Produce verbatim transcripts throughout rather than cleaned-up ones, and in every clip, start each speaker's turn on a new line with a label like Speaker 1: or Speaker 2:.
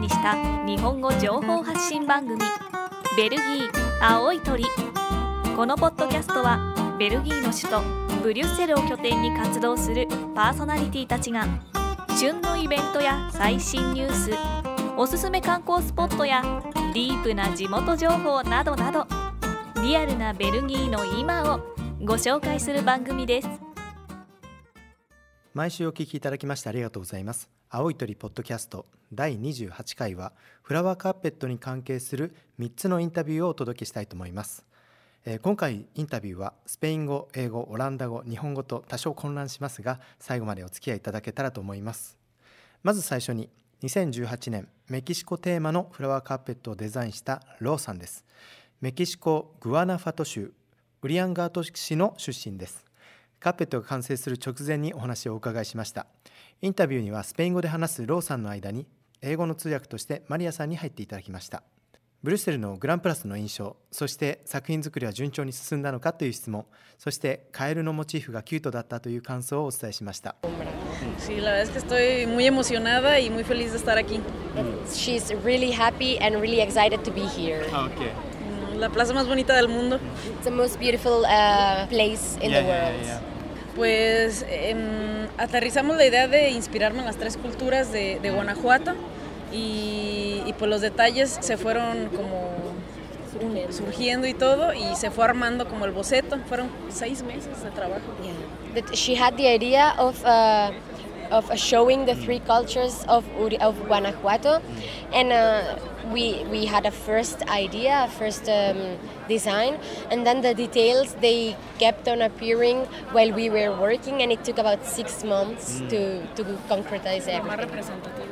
Speaker 1: にした日本語情報発信番組ベルギー青い鳥。このポッドキャストはベルギーの首都ブリュッセルを拠点に活動するパーソナリティたちが旬のイベントや最新ニュース、おすすめ観光スポットやディープな地元情報などなど、リアルなベルギーの今をご紹介する番組です。
Speaker 2: 毎週お聞きいただきましてありがとうございます。青い鳥ポッドキャストだいにじゅうはちかいはフラワーカーペットに関係するみっつのインタビューをお届けしたいと思います。えー、今回インタビューはスペイン語、英語、オランダ語、日本語と多少混乱しますが、最後までお付き合いいただけたらと思います。まず最初ににせんじゅうはちねんメキシコテーマのフラワーカーペットをデザインしたローさんです。メキシコグアナファト州ウリアンガート市の出身です。カーペットが完成する直前にお話をお伺いしました。インタビューにはスペイン語で話すローさんの間に英語の通訳としてマリアさんに入っていただきました。ブリュッセルのグランプラスの印象、そして作品作りは順調に進んだのかという質問、そしてカエルのモチーフがキュートだったという感想をお伝えしました。
Speaker 3: Sí, la verdad es que estoy muy emocionada y muy feliz de estar aquí.
Speaker 4: She's really happy and really excited to be here.
Speaker 2: Okay.
Speaker 3: La plaza más bonita del mundo.
Speaker 4: It's the most beautiful uh, place in
Speaker 2: yeah,
Speaker 4: the world.
Speaker 2: Yeah, yeah.
Speaker 3: Pues eh, aterrizamos la idea de inspirarme en las tres culturas de, de Guanajuato y, y pues los detalles se fueron como surgiendo y todo y se fue armando como el boceto. Fueron seis meses de trabajo.
Speaker 4: Yeah. That she had the idea of uh, of uh, showing the three cultures of of Guanajuato, and uh, we we had a first idea, a first um, design, and then the details they kept on appearing while we were working, and it took about six months mm. to to concretize everything.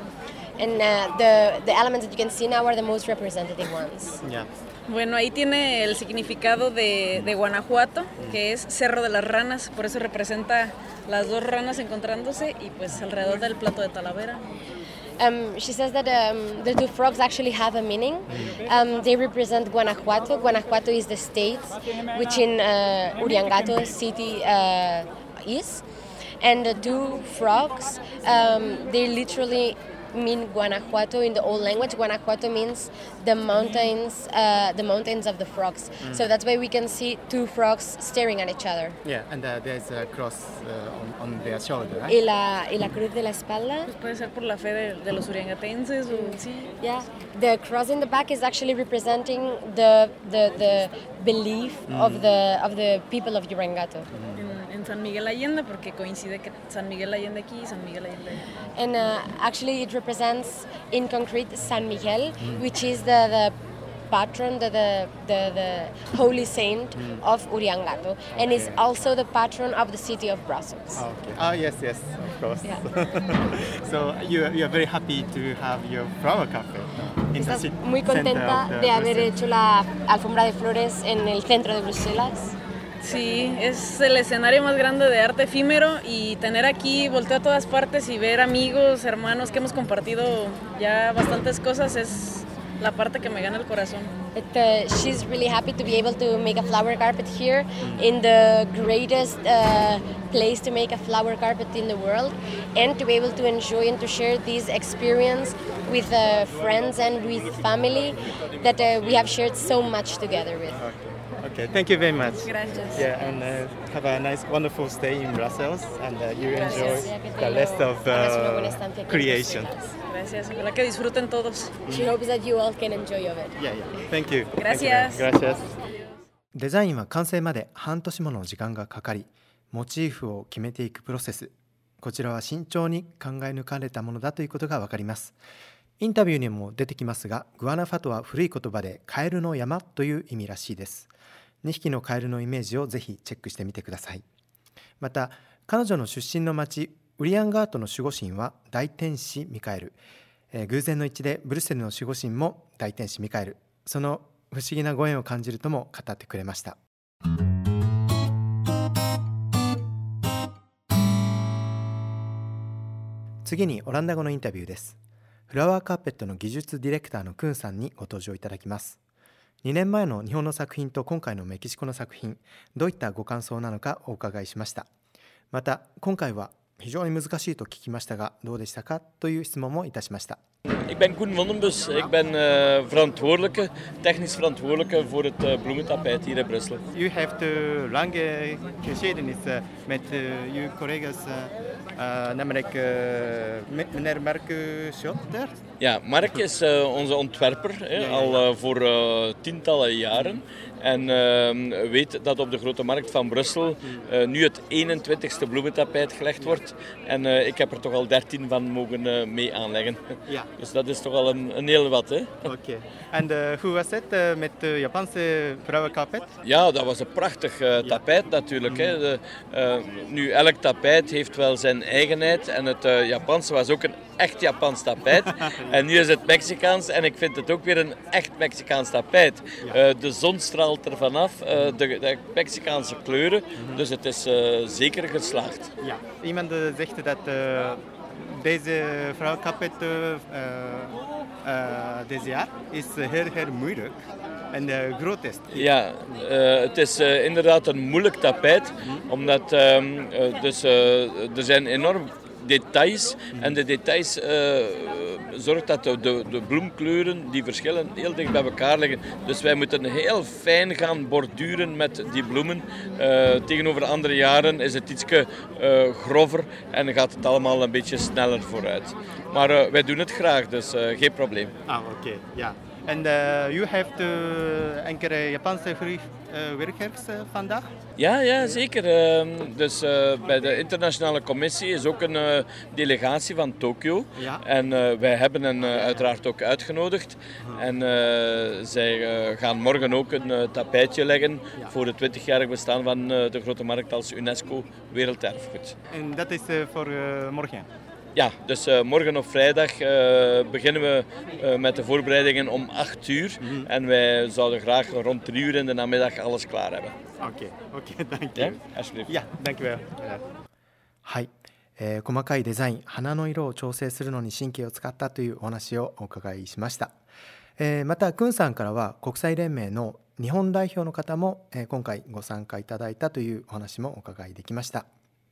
Speaker 4: And uh, the the elements that you can see now are the most representative ones.
Speaker 2: Yeah.
Speaker 3: Bueno, ahí tiene el significado de, de Guanajuato, que es Cerro de las Ranas, por eso representa las dos ranas encontrándose y pues alrededor del plato de Talavera.
Speaker 4: Um, she says that um, the two frogs actually have a meaning. Um, they represent Guanajuato. Guanajuato is the state which in uh, Uriangato city uh, is. And the two frogs, um, they literally mean Guanajuato in the old language. Guanajuato means the mountains, uh, the mountains of the frogs. Mm. So that's why we can see two frogs staring at each other.
Speaker 2: Yeah, and uh, there's a cross uh, on, on their shoulder, right?
Speaker 4: Y la, y la cruz de la espalda.
Speaker 3: Pues puede ser por la fe de, de los uriangatenses o sí.
Speaker 4: Yeah, the cross in the back is actually representing the the, the belief mm. of the of the people of Uriangato.
Speaker 3: Mm. En San Miguel Allende, porque coincide que San Miguel Allende aquí y San Miguel Allende allá.
Speaker 4: And uh, actually it represents in concrete San Miguel, mm. which is the, the patron, the, the, the, the holy saint mm. of Uriangato, okay. And is also the patron of the city of Brussels.
Speaker 2: Oh, okay. Oh yes, yes, of course. Yeah. So you, you are very happy to have your flower cafe in
Speaker 4: ¿Estás
Speaker 2: the city,
Speaker 4: muy contenta de, de haber hecho la alfombra de flores en el centro de Bruselas?
Speaker 3: Sí, es el escenario más grande de arte efímero y tener aquí, voltear a todas partes y ver amigos, hermanos que hemos compartido ya bastantes cosas es la parte que me gana el corazón.
Speaker 4: It, uh, she's really happy to be able to make a flower carpet here in the greatest uh, place to make a flower carpet in the world, and to be able to enjoy and to share this experience with uh, friends and with family that uh, we have shared so much together with.
Speaker 2: Okay, thank you very much.
Speaker 3: Gracias.
Speaker 2: Yeah, and uh, have a nice, wonderful stay in Brussels, and uh, you
Speaker 4: Gracias.
Speaker 2: enjoy the rest of uh, creation.
Speaker 3: Gracias, ojalá que disfruten todos.
Speaker 4: She hopes that you all can enjoy of it.
Speaker 2: Yeah, yeah. Thank you.
Speaker 3: Gracias.
Speaker 2: Thank you. Gracias. デザインは完成まで半年もの時間がかかり、モチーフを決めていくプロセス。こちらは慎重に考え抜かれたものだということがわかります。インタビューにも出てきますが、グアナファトは古い言葉でカエルの山という意味らしいです。にひきのカエルのイメージをぜひチェックしてみてください。また、彼女の出身の町ウリアンガートの守護神は大天使ミカエル、えー、偶然の一致でブリュッセルの守護神も大天使ミカエル、その不思議なご縁を感じるとも語ってくれました。次にオランダ語のインタビューです。フラワーカーペットの技術ディレクターのクンさんにご登場いただきます。にねんまえの日本の作品と今回のメキシコの作品、どういったご感想なのかお伺いしました。また今回は非常に難しいと聞きましたがどうでしたかという質問もいたしました。
Speaker 5: Ik ben Koen Vondenbus. Ik ben uh, verantwoordelijke, technisch verantwoordelijke voor het uh, bloementapijt hier in Brussel.
Speaker 2: You have de lange geschiedenis uh, met uh, uw collega's, uh, uh, namelijk uh, meneer Mark Schotter.
Speaker 5: Ja, Mark is uh, onze ontwerper, hè, ja, ja, ja. al uh, voor uh, tientallen jaren. En uh, weet dat op de Grote Markt van Brussel uh, nu het eenentwintigste bloementapijt gelegd wordt. En uh, ik heb er toch al dertien van mogen uh, mee aanleggen. Ja. Dus dat is toch al een, een heel wat. Oké.
Speaker 2: Okay. En uh, hoe was het uh, met de Japanse vrouwenkapet?
Speaker 5: Ja, dat was een prachtig uh, tapijt ja. natuurlijk. Mm. Hè. De, uh, nu, elk tapijt heeft wel zijn eigenheid. En het uh, Japanse was ook een echt Japans tapijt. ja. En nu is het Mexicaans. En ik vind het ook weer een echt Mexicaans tapijt. Ja. Uh, de zon straalt er vanaf. Uh, de, de Mexicaanse kleuren. Mm-hmm. Dus het is uh, zeker geslaagd.
Speaker 2: Ja. Iemand zegt dat uh, deze vrouwenkapet uh, uh, deze jaar is heel, heel moeilijk. En uh, groot is.
Speaker 5: Ja, uh, het is uh, inderdaad een moeilijk tapijt. Mm-hmm. Omdat um, uh, dus, uh, er zijn enorm details en de details uh, zorgt dat de, de, de bloemkleuren die verschillen heel dicht bij elkaar liggen. Dus wij moeten heel fijn gaan borduren met die bloemen. Uh, tegenover andere jaren is het iets uh, grover en gaat het allemaal een beetje sneller vooruit. Maar uh, wij doen het graag, dus uh, geen probleem.
Speaker 2: Ah, oké, okay. ja. En uh, u heeft uh, enkele Japanse uh, werkgevers uh, vandaag?
Speaker 5: Ja, ja zeker. Uh, dus uh, bij de internationale commissie is ook een uh, delegatie van Tokio. Ja. En uh, wij hebben hen uh, uiteraard ook uitgenodigd. Uh-huh. En uh, zij uh, gaan morgen ook een uh, tapijtje leggen ja. voor het twintigjarig bestaan van uh, de Grote Markt als UNESCO Werelderfgoed.
Speaker 2: En dat is uh, voor uh, morgen?
Speaker 5: Ja, dus uh, morgen op vrijdag uh, beginnen we uh, met de voorbereidingen om acht uur. Mm-hmm. En wij zouden graag rond drie uur in de namiddag alles klaar hebben.
Speaker 2: Oké, okay, oké, okay, dank je. Ja,
Speaker 5: alsjeblieft.
Speaker 2: Ja, dank je wel. Ja. はい、えー、細かいデザイン、花の色を調整するのに神経を使ったというお話をお伺いしました。えー、また、クンさんからは国際連盟の日本代表の方も、えー、今回ご参加いただいたというお話もお伺いできました。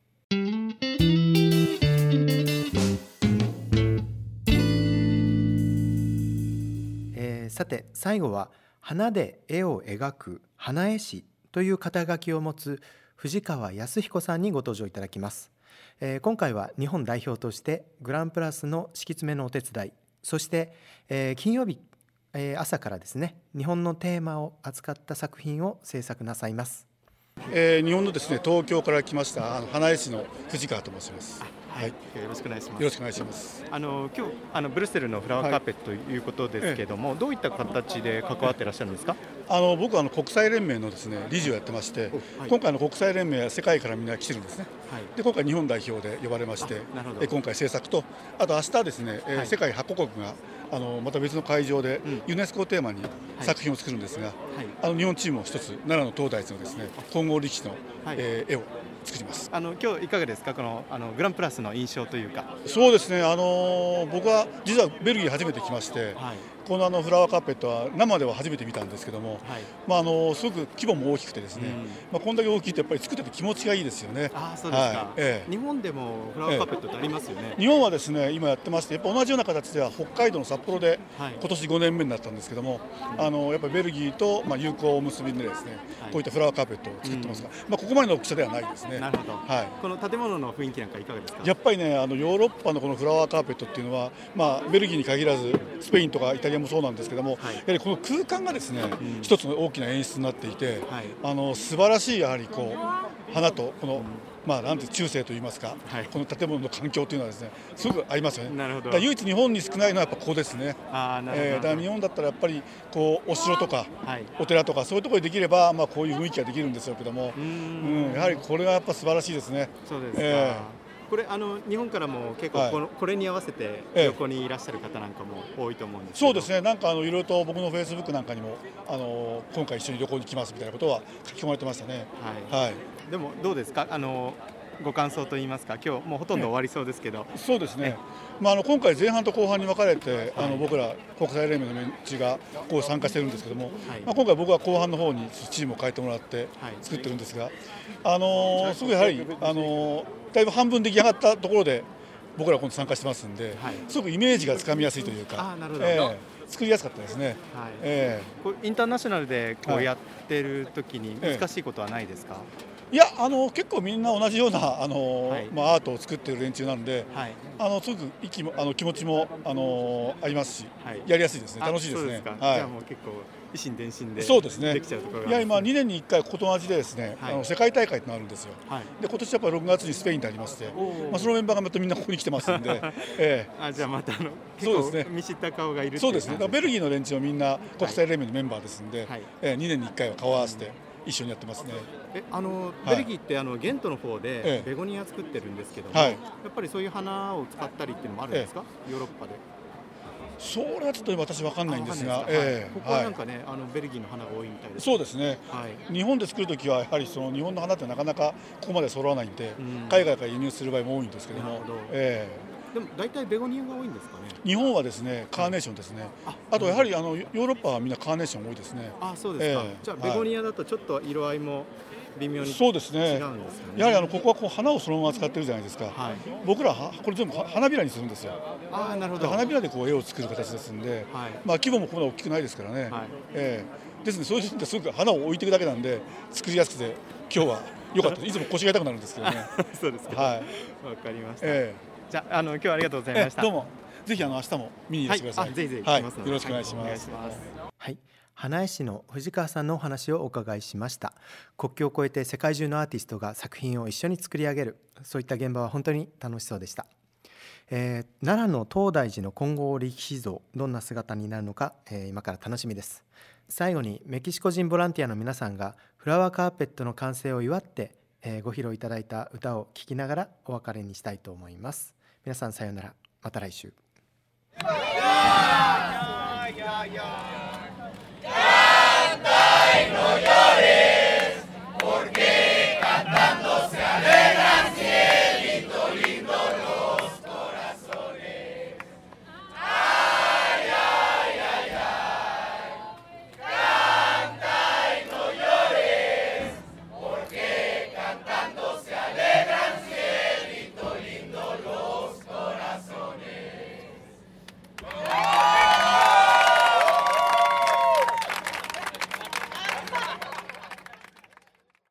Speaker 2: さて最後は花で絵を描く花絵師という肩書きを持つ藤川康彦さんにご登場いただきます。えー、今回は日本代表としてグランプラスの敷き詰めのお手伝い、そして、えー、金曜日、えー、朝からですね日本のテーマを扱った作品を制作なさいます。
Speaker 6: えー、日本のですね東京から来ましたあの花絵師の藤川と申します。
Speaker 2: はい、よろしくお願いします。
Speaker 6: よろしくお願いします。
Speaker 2: あの今日あのブルッセルのフラワーカーペットということですけども、はい、どういった形で関わっていらっしゃるんですか？
Speaker 6: あの僕はあの国際連盟のですね理事をやってまして、はい、今回の国際連盟は世界からみんな来てるんですね。はい、で今回日本代表で呼ばれまして、え今回制作とあと明日ですね、はい、世界はちカ国があのまた別の会場でユネスコをテーマに作品を作るんですが、はい、あの日本チームを一つ奈良の東大寺のですね混合力士の、はいえー、絵を作ります。
Speaker 2: あの今日いかがですか、このあのグランプラスの印象というか。
Speaker 6: そうですね、あの僕は実はベルギー初めて来まして、はい、このあのフラワーカーペットは生では初めて見たんですけども、はいまあ、あのすごく規模も大きくてですね、うんまあ、こんだけ大きいとやっぱり作ってて気持ちがいいですよね。
Speaker 2: あそうですか、はいええ、日本でもフラワーカーペットってありますよね。
Speaker 6: ええ、日本はですね今やってまして、やっぱ同じような形では北海道の札幌で今年ごねんめになったんですけども、はい、あのやっぱりベルギーとまあ友好を結びでですね、はい、こういったフラワーカーペットを作ってますが、うんまあ、ここまでの大きさではないですね。
Speaker 2: なるほど、はい、この建物の雰囲気なんかいかがですか？
Speaker 6: やっぱりねあのヨーロッパのこのフラワーカーペットっていうのは、まあ、ベルギーに限らずスペインとかイタリアもそうなんですけども、はい、やはりこの空間がですね、うん、一つの大きな演出になっていて、はい、あの素晴らしいやはりこう花とこの、うんまあ、なんて中世といいますか、はい、この建物の環境というのはですねすごく合いますよね。
Speaker 2: なるほど。
Speaker 6: だ唯一日本に少ないのはやっぱここですね。
Speaker 2: あなるほど、えー、
Speaker 6: だから日本だったらやっぱりこうお城とか、はい、お寺とかそういうところにできれば、まあ、こういう雰囲気ができるんですけども、うん、やはりこれがやっぱ素晴らしいですね。
Speaker 2: そうですか、えーこれあの日本からも結構この、はい、これに合わせて横にいらっしゃる方なんかも多いと思うんですけど、
Speaker 6: そうですね、なんかあのいろいろと僕のフェイスブックなんかにもあの今回一緒に旅行に来ますみたいなことは書き込まれてましたね。はい、はい、
Speaker 2: でもどうですか、あのご感想といいますか、今日もうほとんど終わりそうですけど。
Speaker 6: そうですね、まあ、あの今回前半と後半に分かれて、はい、あの僕ら国際連盟のメンチがこう参加してるんですけども、はいまあ、今回僕は後半の方にチームを変えてもらって作ってるんですが、あのー、すごいやはり、あのー、だいぶ半分出来上がったところで僕ら今度参加してますんで、はい、すごくイメージがつかみやすいというか、あ、なるほど、えー、作りやすかったですね。はい、
Speaker 2: えー、こうインターナショナルでこうやってる時に難しいことはないですか？はい、
Speaker 6: いや、あの結構みんな同じようなあの、はい、まあ、アートを作っている連中なので、はい、あのすごく息もあの気持ちもあのありますし、はい、やりやすいですね。楽しいですね。
Speaker 2: そうですか。はい、じゃあもう結構一心伝心で
Speaker 6: そうですね。
Speaker 2: できちゃうところが、
Speaker 6: いや、今にねんにいっかいここと同じでですね、はい、あの世界大会となるんですよ。はい、で今年やっぱりろくがつにスペインでありまして、まあ、そのメンバーがまたみんなここに来てますんで、え
Speaker 2: ー、あ、じゃあまたあの結構見知った顔がいるっていう。
Speaker 6: そうですね。ベルギーの連中はみんな国際連盟のメンバーですんで、はい、えー、にねんにいっかいは顔を合わせて一緒にやってますね。
Speaker 2: えあのベルギーってあのゲントの方でベゴニア作ってるんですけども、はい、やっぱりそういう花を使ったりっていうのもあるんですか、ええ、ヨーロッパで。
Speaker 6: それはちょっと私分かんないんですが、
Speaker 2: えー、ここはなんかね、はい、あのベルギーの花が多いみたいです。
Speaker 6: そうですね、はい、日本で作るときはやはりその日本の花ってなかなかここまで揃わないんで、うん、海外から輸入する場合も多いんですけども。なるほど、え
Speaker 2: ー、でも大体ベゴニアが多いんですかね。
Speaker 6: 日本はですねカーネーションですね、はい、あ, あとやはりあのヨーロッパはみんなカーネーション多いですね。
Speaker 2: あ、そうですか、えー、じゃあベゴニアだとちょっと色合いも微妙に違うんですかね。
Speaker 6: そうですね。やはりあのここはこう花をそのまま使ってるじゃないですか、はい、僕らはこれ全部花びらにするんですよ。
Speaker 2: あ、なるほど。
Speaker 6: 花びらでこう絵を作る形ですんで、はい、まあ規模もここまで大きくないですからね、はい、えー、ですね、そういう時ってすごく花を置いていくだけなんで作りやすくて今日は良かった。いつも腰が痛くなるんですけどね。
Speaker 2: そうですか。はい、わかりました、えー、じゃあ、あの今日はありがとうございました。
Speaker 6: どうもぜひあの明日も見にいらしてください。はい、
Speaker 2: ぜひぜひ
Speaker 6: 来ますので、はい、よろしくお願いします。
Speaker 2: はい、花絵師の藤川さんのお話をお伺いしました。国境を越えて世界中のアーティストが作品を一緒に作り上げる、そういった現場は本当に楽しそうでした。えー、奈良の東大寺の金剛力士像、どんな姿になるのか、えー、今から楽しみです。最後にメキシコ人ボランティアの皆さんがフラワーカーペットの完成を祝って、えー、ご披露いただいた歌を聴きながらお別れにしたいと思います。皆さんさようなら、また来週。Canta y no llores.